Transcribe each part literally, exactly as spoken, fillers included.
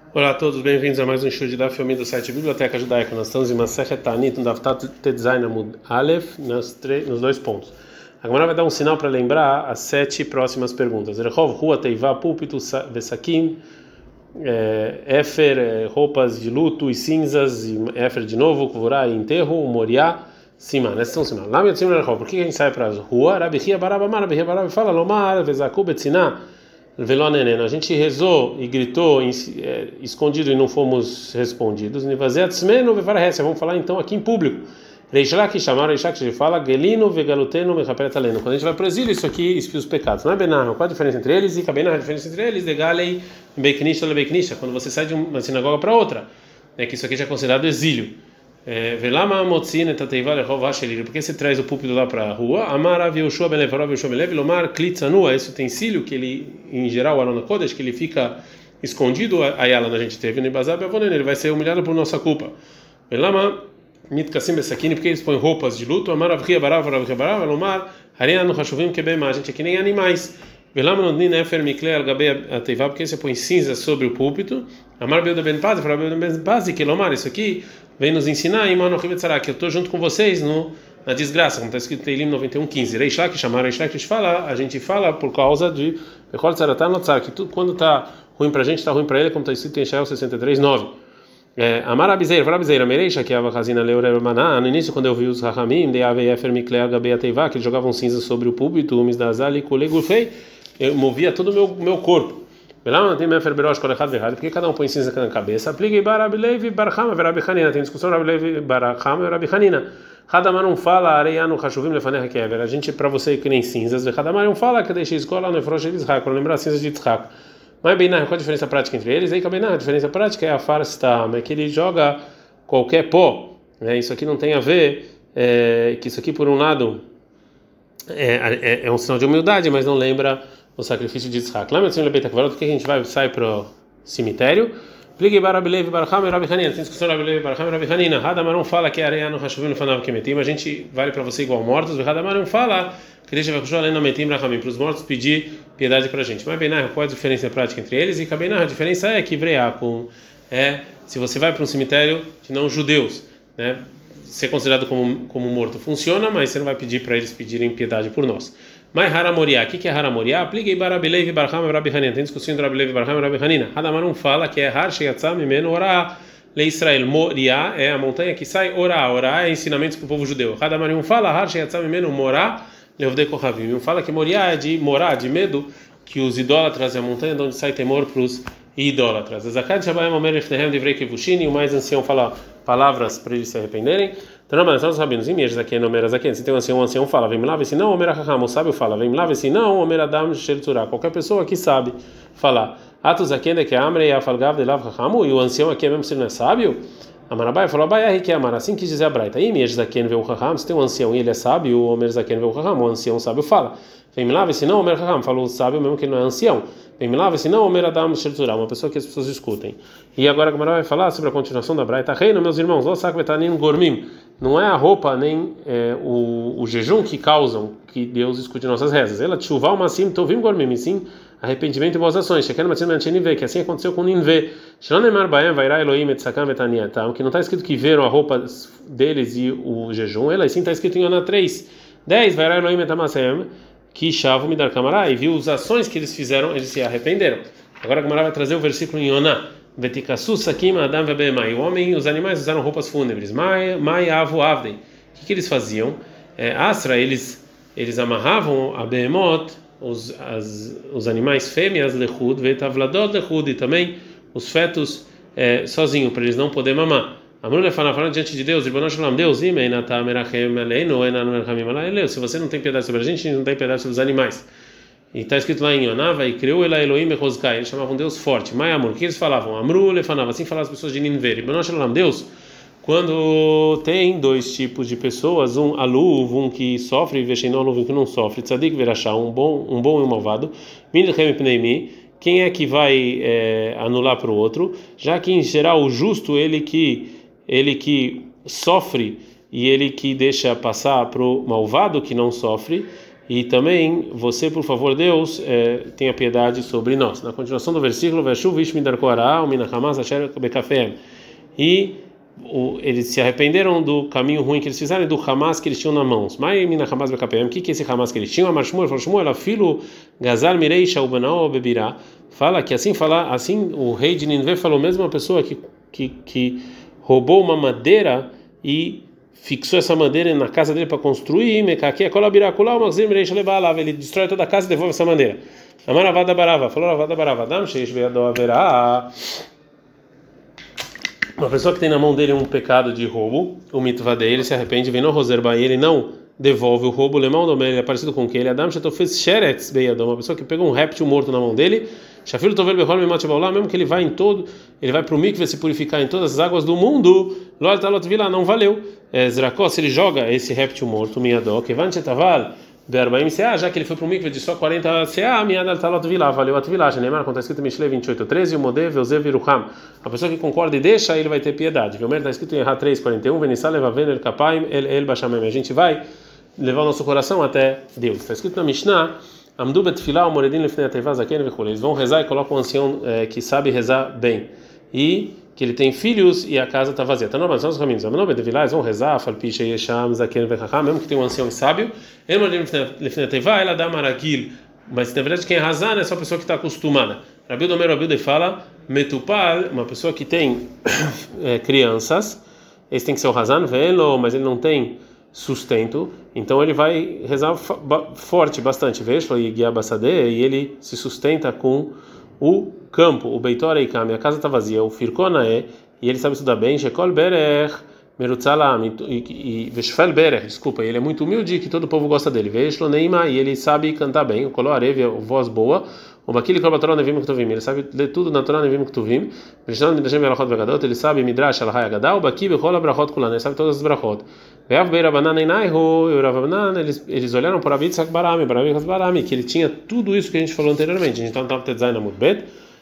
Olá a todos, bem-vindos a mais um show de Daf Yomi do site Biblioteca Judaica. Nós estamos em Masechet Ta'anit, no Daf Tat Tezayin Amud Aleph, nos, nos dois pontos. A Gemara vai dar um sinal para lembrar as sete próximas perguntas. Rehov, Rua, Teivá, Púlpito, Vesakim, Éfer, roupas de luto e cinzas, e Éfer de novo, Kuvurá e enterro, Moriá, Simá. Essas são sinal. Lá me Rehov, por que a gente sai para as ruas? Rabi Chia Baraba Mar, Rabi Chia Baraba fala, Lomar, Vezaku, Betziná. A gente rezou e gritou é, escondido e não fomos respondidos. Vamos falar então aqui em público. Reishlaki chamaram, Reishlaki fala, Gelino, Vegaluteno, Mechaperetaleno. Quando a gente vai para o exílio, isso aqui expia os pecados. Não é Benar, qual a diferença entre eles? E Kabenar, a diferença entre eles, Degalei, Beiknisha, Beiknisha, quando você sai de uma sinagoga para outra. É que isso aqui já é considerado exílio. Velama Motzin Etateiva Lehov Hashelir. Por que você traz o púlpito lá para a rua? Amar Yoshua Ben Levarov Yoshua Ben Lev Lomar Klitzanua. Esse utensílio que ele, em geral, o Arona Kodesh, que ele fica escondido, aí ela a gente teve no Ibazab Avonen, ele vai ser humilhado por nossa culpa. Velama Mitkasim Besakini, porque eles põem roupas de luto. Amar Avria Barav Avria Barav Lomar Harianu Hashuvim Kebema. A gente é que nem animais. Velama Nodnin Efer Mikle Algabe Ateiva, porque você põe cinza sobre o púlpito. Amar Beuda Ben Paz, Amar Beuda Ben Paz, que Lomar, isso aqui vem nos ensinar, que eu estou junto com vocês no, na desgraça, como está escrito em Teilim noventa e um, quinze. Reishlak, chamaram Reishlak, fala, a gente fala por causa de que tudo, quando está ruim para a gente, está ruim para ele, como está escrito em Shael sessenta e três, nove. Amar Abizeir, fala Abizeir, Mereisha, que é a Vachazina Leure Maná, no início, quando eu vi os Rahamim, de Ave Efer Miklea Gabea Teiva, que eles jogavam cinza sobre o púlpito, Umis da Azali, Kulegufei, eu movia todo o meu, meu corpo. Por que cada um põe cinza na cabeça? Aplique Barabilev, Barhama, Verabihanina. Tem discussão Barabilev, Barhama, Verabihanina. Hadamar não fala, Areiano, Hashuvim, Lefaner, Kever. A gente, para você que nem cinzas, Hadamar não fala que deixa escola no Efrosh de Israel, para lembrar cinzas de Israel. Mas bem, qual a diferença prática entre eles? Aí, bem, a diferença prática é a farsta, é que ele joga qualquer pó. Né? Isso aqui não tem a ver, é, que isso aqui, por um lado, é, é, é um sinal de humildade, mas não lembra o sacrifício de Yitzhak. Lá, meu Lebeita Kvarot, porque a gente vai sai para o cemitério. Pligue Barabilev, Barham e Rabihanina. Tem discussão Barabilev, Barham e Rabihanina. Hadamar não fala que é areia no Hashuvim no Fanav Kemetim. A gente vale para você igual mortos. Hadamar não fala que deixa além no Metim Rahamim para os mortos pedir piedade para a gente. Mas Benar, qual é a diferença prática entre eles? E Kabenar, a diferença é que Vreakum é se você vai para um cemitério de não judeus, né? Ser considerado como como morto funciona, mas você não vai pedir para eles pedirem piedade por nós. Mas Haramoriá, o que é Haramoriá? Apliquei Barabilev, Barham e Rabihanina. Tem discussão entre Barabilev, Barham e Rabihanina. Hadamar não fala que é Har Sheyatzam Mimenu Orá Le Israel. Moriá é a montanha que sai Orá. Orá é ensinamentos para o povo judeu. Hadamar não fala Har Sheyatzam Mimenu Morá Leovdei Kohavim. Não fala que Moriá é de morar, de medo, que os idólatras é a montanha de onde sai temor para os idólatras. Zakat Shabayim Omer Efnehem Divrei Kevushini. O mais ancião fala palavras para eles se arrependerem. Então, mas nós rabinos, imeiros aqui no Meras aqui, se tem um ancião, um ancião fala, vem lá, se não, o Meraham, o sábio fala, vem lá, se não, o Meradam Sherturá, qualquer pessoa que sabe falar. Atos aqui é que Amrei Afalgav de Lav Rahamu, e o ancião aqui mesmo se não é sábio, Amarabai falou, Abai que é Amar, assim quis dizer a Braita. E imeiros aqui vê o Raham, se tem um ancião e ele é sábio, o Meras aqui vê o Raham, o ancião sábio fala. Vem lá, se não, o Meraham falou o sábio mesmo que ele não é ancião. Vem lá, se não, o Meradam Sherturá, uma pessoa que as pessoas escutem. E agora a Gemara vai falar sobre a continuação da Braita. Reino, meus irmãos, Lo Sak Betanin Gormim. Não é a roupa nem é, o, o jejum que causam que Deus escute nossas rezas. Ela tchuvá o massim tovim gormim, sim arrependimento e boas ações. Sheken matzim anchenive, que assim aconteceu com Ninve. Shlonemar baem vairá Elohim et sakam betaniatam, que não está escrito que viram a roupa deles e o jejum. Ela sim está escrito em Yonah três, dez, vairá Elohim et amasem, que chavu midar kamará, e viu as ações que eles fizeram, eles se arrependeram. Agora a Gemara vai trazer o versículo em Yonah. Vetikassu sakim adam vebemai. O homem e os animais usaram roupas fúnebres. Mai mai avu avdei. O que, que eles faziam? É, Astra, eles eles amarravam a behemoth, os as, os animais fêmeas lechud, vetavladot lechud, e também os fetos é, sozinho para eles não poder mamar. Amru lefana falando diante de Deus, Ribono Shalom, Deus, imei nata merachem aleinu enanu merachamim alayeleu. Se você não tem piedade sobre a gente, a gente não tem piedade sobre os animais. E está escrito lá em Yonah, e criou ela Elohim Echozkai. Eles chamavam Deus forte. Mai Amor, o que eles falavam? Amru lefanava, assim falavam as pessoas de Ninver. Ribono Shalom, Deus, quando tem dois tipos de pessoas, um aluv, um que sofre, e vexenó, um que não sofre, tzadik verachá, um bom, um bom e um malvado, minilchem pneimi, quem é que vai é, anular para o outro? Já que em geral o justo, ele que ele que sofre e ele que deixa passar para o malvado que não sofre. e também você, por favor, Deus, é, tenha piedade sobre nós. Na continuação do versículo, e o, eles se arrependeram do caminho ruim que eles fizeram e do Hamas que eles tinham na mãos. O que que é esse Hamas que eles tinham? Fala que assim fala, assim o rei de Nínive falou, mesmo uma pessoa que que, que roubou uma madeira e fixou essa madeira na casa dele para construir, ele destrói toda a casa e devolve essa madeira. Amaravada barava, falou Ravada barava, haverá uma pessoa que tem na mão dele um pecado de roubo, o mitva dele, ele se arrepende, vem no roserba e ele não devolve o roubo, lemão do ele é parecido com que ele Adam fez sheretz beyadom, uma pessoa que pegou um réptil morto na mão dele, shafilo tovel behol memat shabaolam, mesmo que ele vai em todo, ele vai para o mikve se purificar em todas as águas do mundo, lo altalot vila, não valeu. Zrakó, se ele joga esse réptil morto, miadó, kevan shetaval berbaim seah, já que ele foi para o mikve de só quarenta seah, miad altalot vila, valeu a tvilá. Neymar, quando está escrito em Mishlei vinte e oito, treze, o modé veuzev iruham, a pessoa que concorda e deixa, ele vai ter piedade. Velmer está escrito em Erra três, quarenta e um, venissá levaven el kapaim el el bashamem, a gente vai levar o nosso coração até Deus. Está escrito na Mishnah, Amdu betfilah umoredin lefnei ateva zaken vechule. Eles vão rezar e colocam um ancião é, que sabe rezar bem e que ele tem filhos e a casa está vazia. Então, nós os caminhos. Amdu betfilah, eles vão rezar, falpiche yesham zaken vechacham, mesmo que tem um ancião sábio. Emoredin lefnei ateva ela dá maragil. Mas na verdade quem é razar é só a pessoa que está acostumada. Rabi Domer Rabi de fala metupal, uma pessoa que tem é, crianças. Esse tem que ser o razan velo, mas ele não tem sustento, então ele vai rezar forte bastante, veja, e ele se sustenta com o campo, o beitora e a casa está vazia, o firkona é, e ele sabe estudar bem, shekol berech merutzalam e veshfel berech, desculpa, ele é muito humilde que todo o povo gosta dele, veja, neima, e ele sabe cantar bem, o kolor arev, a voz boa, o bakili kol batorah nevim ktuvim, ele sabe ler tudo na Torá nevim ktuvim, veshnan midrashim velachot vegadot, ele sabe midrash alahai agadal, baki bechol abrachot kulan, ele sabe todas as brachot. Eles, eles olharam para Rabi Yitzhak Barami, para Rabi Yitzhak Barami, que ele tinha tudo isso que a gente falou anteriormente. A gente estava no Tetzai Amud Bet.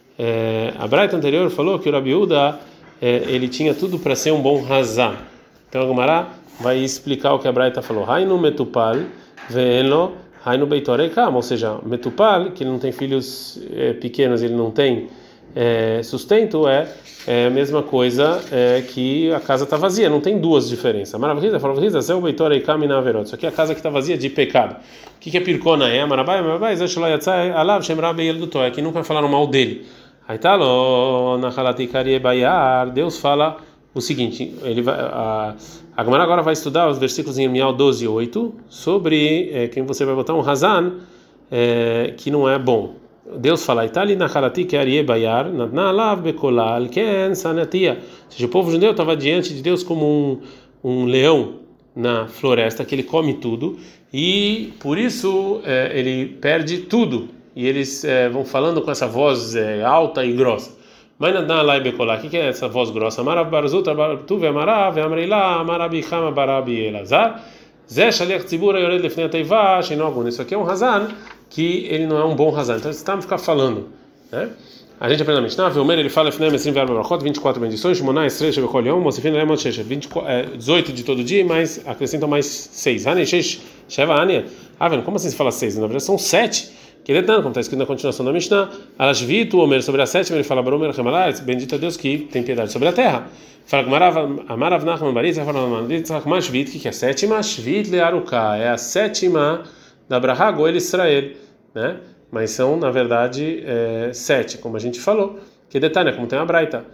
A Braita anterior falou que o Rabi Uda ele tinha tudo para ser um bom razão. Então a Gemara vai explicar o que a Braita falou. Hainu metupal ve'enlo hainu beitorei kam, ou seja, metupal, que ele não tem filhos é, pequenos, ele não tem é, sustento, é É a mesma coisa é, que a casa está vazia, não tem duas diferenças. Maravilha, maravilha, Zé o Beitor e Kamina Averot. Isso aqui é a casa que está vazia de pecado. O que, que é Pirkona? É Marabai, Marabai, Zé Shloyatzai, Alav, Shemrabe El Dutoy, que nunca falaram mal dele. Aí tá lá, na Halatikari Bayar, Deus fala o seguinte: ele vai, a, a Gemara agora vai estudar os versículos em Emial doze, oito, sobre é, quem você vai botar um Hazan é, que não é bom. Deus fala, Itali na Halati que Arie Bayar, na Alav Bekolal, Ken Sanatia. Ou seja, o povo judeu estava diante de Deus como um, um leão na floresta, que ele come tudo, e por isso é, ele perde tudo. E eles é, vão falando com essa voz é, alta e grossa. Mas na Alav Bekolal, o que é essa voz grossa? Marav Barzut, Tuve Amarav, Amreila, Amarabi Chama, Barabi Elazar, Zé Shaliach Tzibura, Yored Lefnei Ateiva, Sheinogun. Isso aqui é um Hazan que ele não é um bom razão. Então, você está me ficar falando, né? A gente aprende na Mishnah, Velmer, ele fala, vinte e quatro bendições, Shmonah, Esrei, Shevechol Yom, Mosifin, Lemon, Shesh, dezoito de todo dia, mas acrescentam mais seis. Hanei, Shesh, Sheva, Ania. Ah, vendo, como assim se fala seis? Na verdade, são sete. Que detalhe, como está escrito na continuação da Mishnah, Alashvitu, Omer, sobre a sétima, ele fala, Baromer, Remalai, bendito a Deus que tem piedade sobre a terra. Fala, Amarav, Nachman, Baritz, fala, Mashvit, que é a sétima, Shvit, Learuká, é a sétima da Braha, Goel, Israel, né? Mas são, na verdade, é, sete, como a gente falou. Que detalhe, como tem a Braita.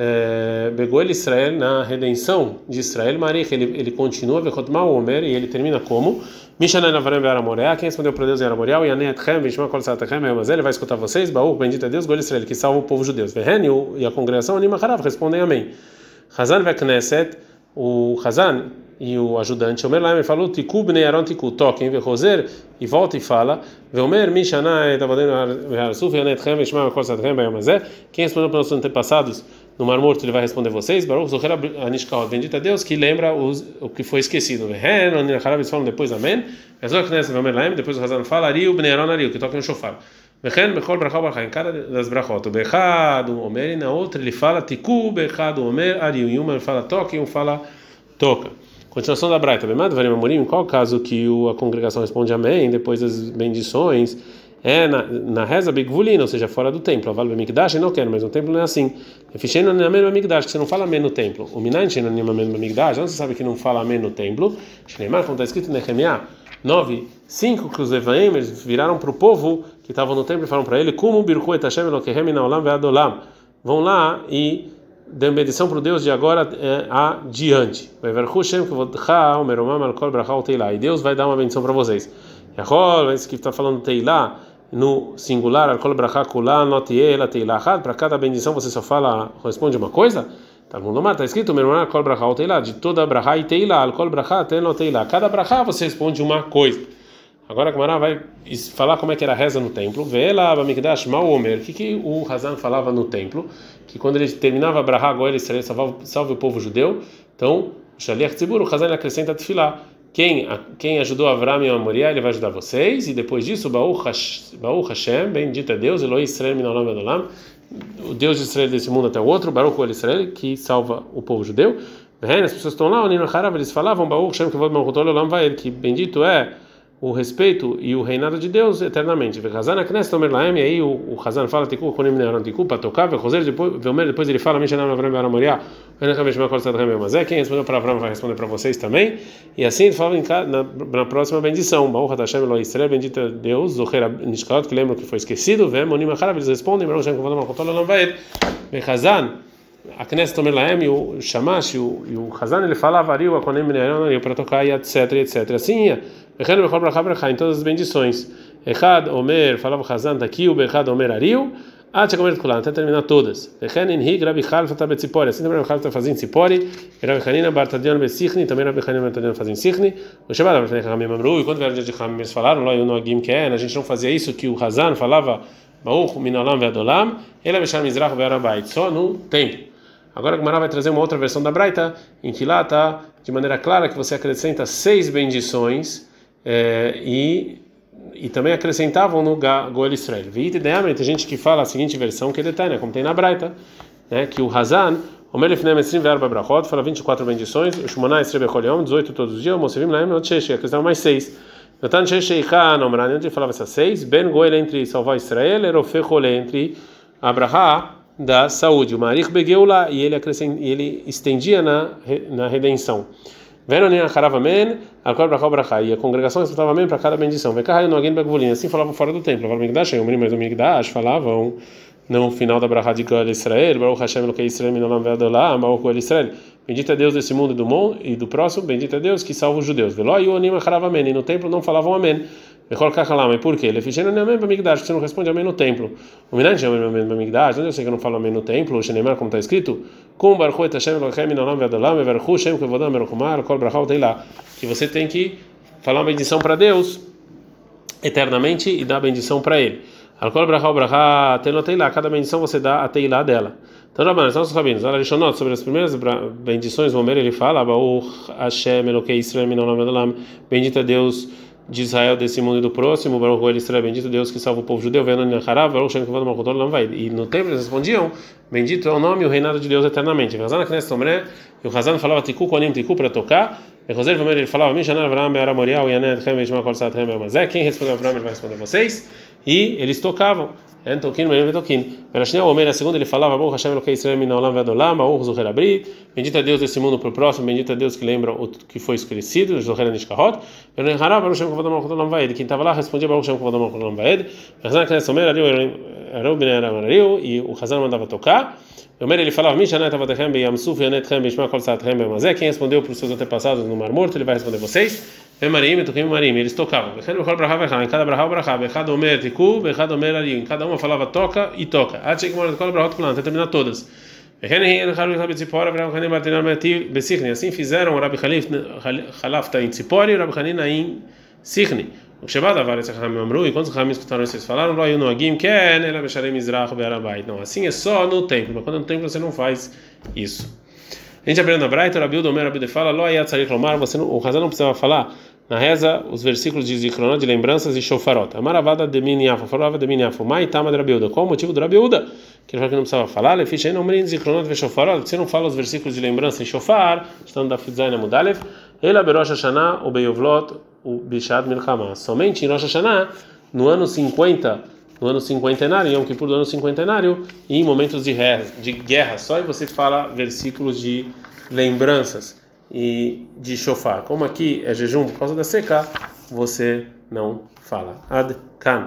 Begoel Israel, na redenção de Israel, Marich, ele, ele continua, Vechotmal Omer, e ele termina como? Mishanai Navarem Ve'aramoreá, quem respondeu para Deus em Aramoreá, e Yanetchem, Vishma Kol Satachem, ele vai escutar vocês, Baú, bendito é Deus, Goel Israel, que salva o povo judeu. Vehen, e a congregação, Anima Harav, respondem amém. Hazan Vekneset, o Hazan e o ajudante, Omer Laim, falou, Tiku Bnei Aron Tiku, toquem, Vechoser, e volta e fala, Veomer, Mishanai, Tavadem Ve'arsuf, Yanetchem, Vishma Kol Satachem, Bayamazé, quem respondeu para os nossos antepassados no Mar Morto, ele vai responder vocês, Baruch Zocher Anishkaot, bendito a Deus, que lembra os, o que foi esquecido. Vehen, Oniracharav, eles falam depois, amém. Ezok Knesset, Veomer Laim, depois o Hazan fala, Ariu, Bnei Aron, Ariu, que toca no shofar. Vehen, Bechol, Brachal, Brachal, em cada das brachot. O Bechad, o Omer, e na outra ele fala, Tiku, Bechad, o Omer, Ariu, em uma ele fala toca, e um fala toca. Continuação da Braita. Em qual caso que a congregação responde amém depois das bendições? É na, na reza bigvulina, ou seja, fora do templo. Aval b'mikdash, não quero, mas no templo não é assim. Ficheno nem amém b'mikdash, que você não fala amém no templo. O minan cheno nem amém b'mikdash, não você sabe que não fala amém no templo. Shneimar, como está escrito em Nehemiah nove, cinco, que os Evaim eles viraram para o povo que estavam no templo e falaram para ele: Kumu birchu et Hashem Elokehem inaolam ve'adolam. Vão lá e dêem bendição para o Deus de agora é, adiante. E Deus vai dar uma bendição para vocês. Esse que está falando Teilá no singular, para cada bendição você só fala, responde uma coisa? Está escrito de toda brachá e Teilá, cada brachá você responde uma coisa. Agora a Gemara vai falar como é que era a reza no templo. Ve'ela b'mikdash mal omer. O que que o Hazan falava no templo? Que quando ele terminava a brachá, agora ele salve o povo judeu. Então, shaliach tzibur, o Hazan acrescenta tefilá. Quem quem ajudou Avram e Moriá, ele vai ajudar vocês. E depois disso, Baruch Hashem, bendito é Deus, Eloi Israel min olam ועד עולם, o Deus de Israel desse mundo até o outro, Baruch el Israel, que salva o povo judeu. As pessoas estão lá, eles falavam Baruch Hashem que que bendito é o respeito e o reinado de Deus eternamente. E aí o Hazan fala para tocar, depois ele fala quem respondeu para Avram vai responder para vocês também. E assim ele fala na, na próxima bendição, bendito é Deus, que lembra que foi esquecido, eles respondem a Knesset Omer Lahem e o Shamash e o Hazan ele falava Ariu, Akonem Mineron para tocar e etc, etc. Assim ia. Em todas as bendições. Echad Omer falava Hazan daqui, o Bechad Omer Ariu, até terminar todas. Echen Inhig Rabi Chalfa está betzipori. Assim também Rabi Chalfa está fazendo Tzipori. Rabi Hanina Bartadion Besichni, também Rabi Hanina Bartadion fazendo Sichni. O Shabbat Rabi Hanina Mamru, e quando vieram o dia de Hamim, eles falaram, lá eu no Agim Ken, a gente não fazia isso que o Hazan falava Baruch Minolam Ve'adolam, Ela Beshar Mizrach Ve'arabait, só no templo. Agora a Gemara vai trazer uma outra versão da Braita, em que lá está de maneira clara que você acrescenta seis bendições é, e, e também acrescentavam no Goel Israel. Tem gente que fala a seguinte versão, que é detalhe, como tem na Braita, né, que o Hazan, o Melefnem Esrim Verba Brachot, fala vinte e quatro bendições, o Shmoná Esrebe Choliom, dezoito todos os dias, o Mosevim Laem Otchesh, acrescentavam mais seis. Natan Shesheikha Nomran, onde ele falava essas seis, Ben Goel entre salvar Israel, Erofe Chole entre Abraha da saúde, o Marich Begeula, e ele acrescent, ele estendia na na redenção. Venonin Haravamen, Alkol Brachal Brachá, e a congregação respeitava amém para cada bendição. Vekahai no Agin Begvulin, assim falavam fora do templo. Falavam Migdash, o menino mais do Migdash falavam no final da Brachá de Goel Israel, Baruch Hashem Elokei Israel Minolam Ve'adolam, Baruch Goel Israel. Bendito é Deus desse mundo e do mundo e do próximo, bendito é Deus que salva os judeus. Veló e o Onim Haravamen, e no templo não falavam amém. Mas por quê? Ele fizeram amém para Migdash, você não responde amém no templo. O Minan chama amém para Migdash, onde eu sei que eu não falo amém no templo, o Shneimar, como está escrito, com Baruch et Hashem Elokehem Minolam Ve'adolam, Ve'archu Hashem Kevodam Meruchumar, Kol Brachau Teilá, que você tem que falar uma bendição para Deus eternamente e dar bendição para Ele. Kol Brachau Brachá Teilá, cada bendição você dá a Teilá dela. Então, Rabanan, nossos rabinos, olha, Rishonot, sobre as primeiras bendições, o Homer ele fala, Baruch Hashem Elokei Israel Minolam Ve'adolam, bendito é Deus de Israel desse mundo e do próximo, Baruch Goel Israel, bendito Deus que salva o povo judeu, e no templo eles respondiam, bendito é o nome e o reinado de Deus eternamente. E o Hazan falava Tiku Konim Tiku para tocar, e o ele falava Mishanar Avram Be'ara Moriah Yanet Chem Ve'ishma Kol Sat Chem Ve'amazé, quem respondeu Avram ele vai responder vocês, e eles tocavam. Toquin, Merim Toquin. Perashnei Omer, a segunda ele falava Baruch Hashem Elokei Israel Minolam Ve'adolam, Baruch Zuher Abri, bendito é Deus desse mundo para o próximo, bendito é Deus que lembra o que foi esclarecido, Zuher Nishkahot. Quem estava lá respondia Baruch Hashem Kvodam Olam Vaed. E o Hazan mandava tocar. O Omer ele falava Mishanat Avatechem Be'yamsuf Yanetchem Be'ishma Kol Sat Chem Ve'amazé. Quem respondeu para os seus antepassados no Mar Morto, ele vai responder vocês. Marim, Toquim, Marim, eles tocavam. Em cada brachá, brachá, Bechad Omer Tiku, Bechad Omer Ariu. Em cada uma falava toca e toca. Até terminar todas. Assim fizeram o Rabi Chalafta em Tzipori e o Rabi Hanina em Sichni. O Shabbat Avar esse Chachamim Amru, e quando os Chachamim escutaram isso, eles falaram: Lo no Agim Ken, Ela Besharei Mizrach Be'arabait. Não, assim é só no templo, mas quando no templo você não faz isso. A gente aprende na Braita, o Rabi Uda Omer, Rabi Uda fala: Lo ayat tzarich lomar, você não, o Hazan não precisava falar na reza os versículos de Zikronot, de lembranças e shofarot. Amaravada de Miniafo, falava de Miniafo, Mai Tama de Rabi Uda. Qual o motivo do Rabi Uda? Que ele falou que não precisava falar, Lefish Ein Omrin Zikronot ve Shofarot, você não fala os versículos de lembrança e shofar, estando da Fidzaina Mudalev, Ela berosh Hashanah ou beyovlot o bishad milchama. Somente em Rosh Hashanah, no ano cinquenta, no ano cinquentenário, em Yom Kippur do ano cinquentenário, e em momentos de guerra, de guerra, só aí você fala versículos de lembranças e de shofar. Como aqui é jejum por causa da seca, você não fala. Ad kan.